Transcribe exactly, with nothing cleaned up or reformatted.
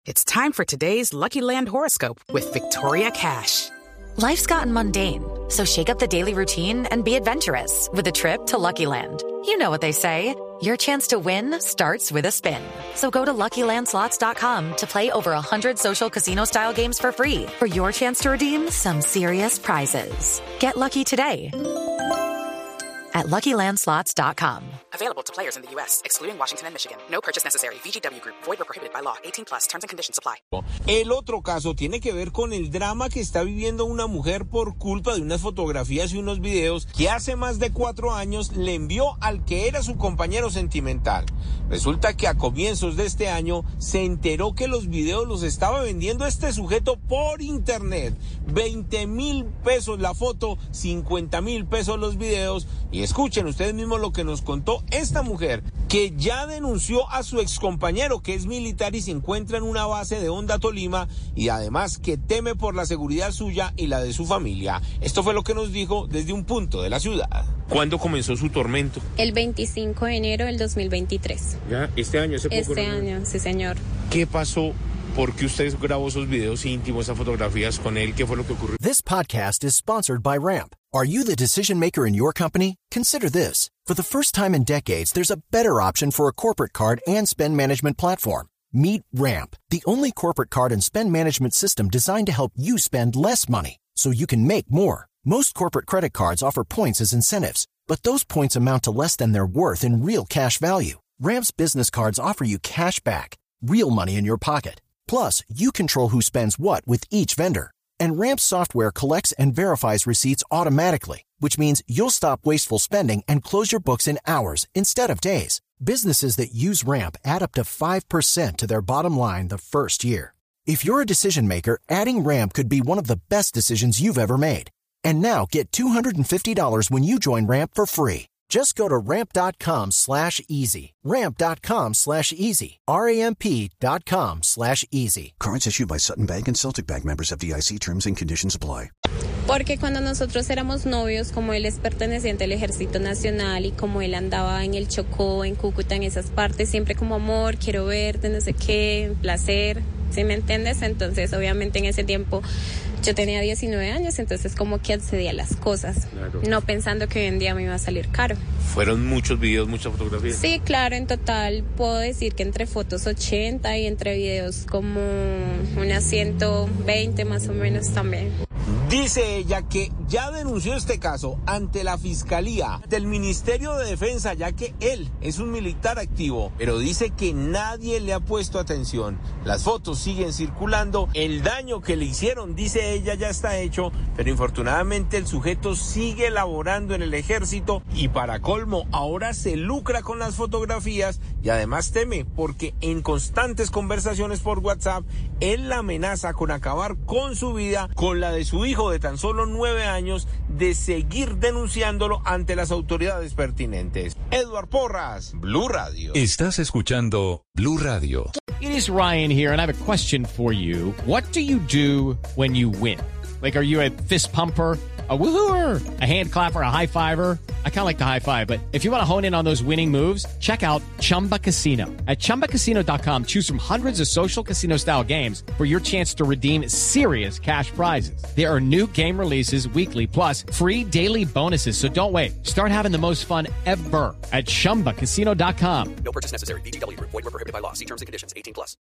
It's time for today's Lucky Land horoscope with Victoria Cash. Life's gotten mundane, so shake up the daily routine and be adventurous with a trip to Lucky Land. You know what they say, your chance to win starts with a spin. So go to Lucky Land Slots dot com to play over one hundred social casino-style games for free for your chance to redeem some serious prizes. Get lucky today at Lucky Land Slots dot com. Available to players in the U S, excluding Washington and Michigan. No purchase necessary. V G W Group. Void or prohibited by law. eighteen plus. Terms and conditions apply. El otro caso tiene que ver con el drama que está viviendo una mujer por culpa de unas fotografías y unos videos que hace más de cuatro años le envió al que era su compañero sentimental. Resulta que a comienzos de este año se enteró que los videos los estaba vendiendo este sujeto por internet. veinte mil pesos la foto, cincuenta mil pesos los videos. Y escuchen ustedes mismos lo que nos contó esta mujer, que ya denunció a su excompañero, que es militar y se encuentra en una base de Honda, Tolima, y además que teme por la seguridad suya y la de su familia. Esto fue lo que nos dijo desde un punto de la ciudad. ¿Cuándo comenzó su tormento? El veinticinco de enero del dos mil veintitrés. ¿Ya? ¿Este año? Hace poco, este ¿no? año, sí señor. ¿Qué pasó? ¿Por qué usted grabó esos videos íntimos, esas fotografías con él? ¿Qué fue lo que ocurrió? This podcast is sponsored by Ramp. Are you the decision maker in your company? Consider this. For the first time in decades, there's a better option for a corporate card and spend management platform. Meet Ramp, the only corporate card and spend management system designed to help you spend less money so you can make more. Most corporate credit cards offer points as incentives, but those points amount to less than their worth in real cash value. Ramp's business cards offer you cash back, real money in your pocket. Plus, you control who spends what with each vendor. And Ramp software collects and verifies receipts automatically, which means you'll stop wasteful spending and close your books in hours instead of days. Businesses that use Ramp add up to five percent to their bottom line the first year. If you're a decision maker, adding Ramp could be one of the best decisions you've ever made. And now get two hundred fifty dollars when you join Ramp for free. Just go to ramp.com slash easy. Ramp.com slash easy. R-A-M-P dot com slash easy. Cards issued by Sutton Bank and Celtic Bank, members of F D I C. Terms and conditions apply. Porque cuando nosotros éramos novios, como él es perteneciente al Ejército Nacional y como él andaba en el Chocó, en Cúcuta, en esas partes, siempre como amor, quiero verte, no sé qué, placer, ¿sí me entiendes? Entonces, obviamente en ese tiempo yo tenía diecinueve años, entonces como que accedía a las cosas, claro, no pensando que hoy en día me iba a salir caro. ¿Fueron muchos videos, muchas fotografías? Sí, claro, en total puedo decir que entre fotos ochenta y entre videos como unas ciento veinte más o menos también. Dice ella que ya denunció este caso ante la Fiscalía del Ministerio de Defensa, ya que él es un militar activo, pero dice que nadie le ha puesto atención. Las fotos siguen circulando, el daño que le hicieron, dice ella, ya está hecho, pero infortunadamente el sujeto sigue laborando en el ejército y para colmo ahora se lucra con las fotografías y además teme porque en constantes conversaciones por WhatsApp él la amenaza con acabar con su vida, con la de su hijo de tan solo nueve años, de seguir denunciándolo ante las autoridades pertinentes. Edward Porras, Blue Radio. Estás escuchando Blue Radio. It is Ryan here, and I have a question for you. What do you do when you win? Like, are you a fist pumper, a woohooer, a hand clapper, a high fiver? I kind of like the high five, but if you want to hone in on those winning moves, check out Chumba Casino. At chumba casino dot com, choose from hundreds of social casino-style games for your chance to redeem serious cash prizes. There are new game releases weekly, plus free daily bonuses, so don't wait. Start having the most fun ever at chumba casino dot com. No purchase necessary. V G W Group. Void where prohibited by law. See terms and conditions. eighteen plus.